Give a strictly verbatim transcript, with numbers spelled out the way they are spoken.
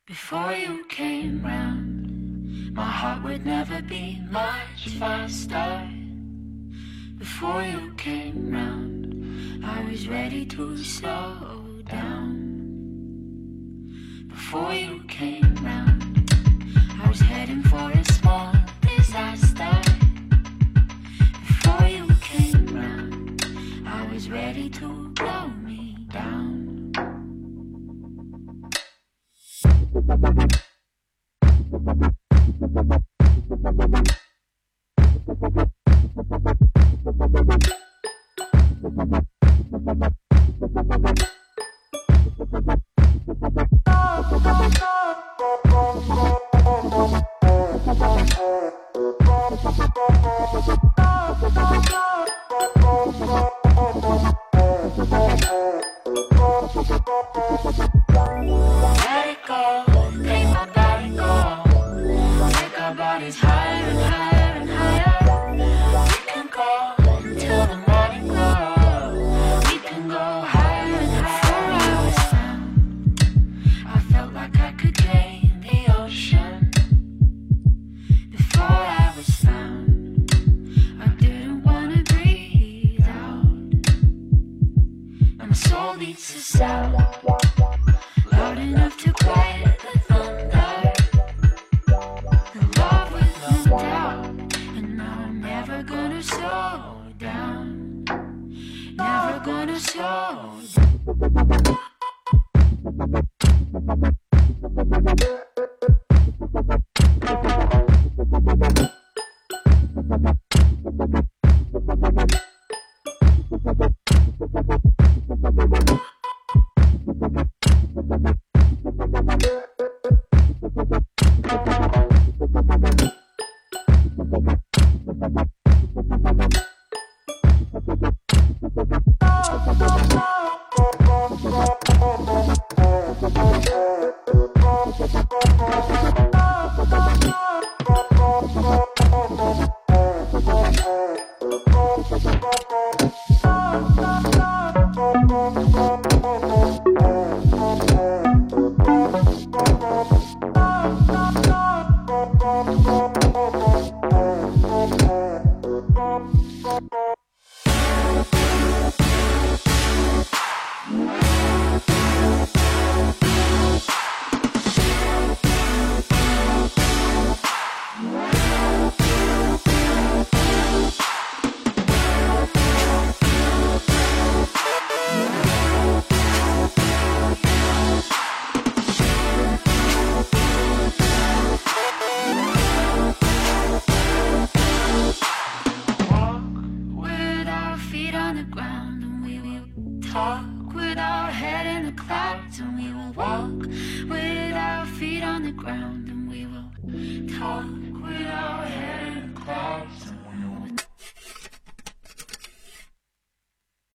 Before you came round, my heart would never be much faster. Before you came round, I was ready to slow down. Before you came round, I was heading for a small disaster. Before you came round, I was ready to blow me down. Let it go, make my body go. Take our bodies higher and higher and higher. We can go until the morning glow. We can go higher and higher. Before I was found, I felt like I could gain the ocean. Before I was found, I didn't want to breathe out. And my soul needs a sound loud enough to quiet the thunder. The love with no doubt, and now I'm never gonna slow down. Never gonna slow down. Talk with our head in the clouds, and we will walk with our feet on the ground, and we will talk.